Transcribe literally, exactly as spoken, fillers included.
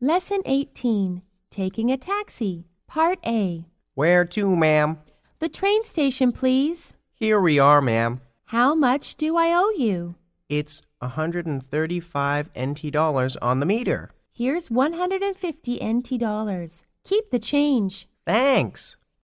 Lesson eighteen, Taking a Taxi, Part A. Where to, ma'am? The train station, please. Here we are, ma'am. How much do I owe you? It's one hundred thirty-five N T dollars on the meter. Here's one hundred fifty N T dollars. Keep the change. Thanks.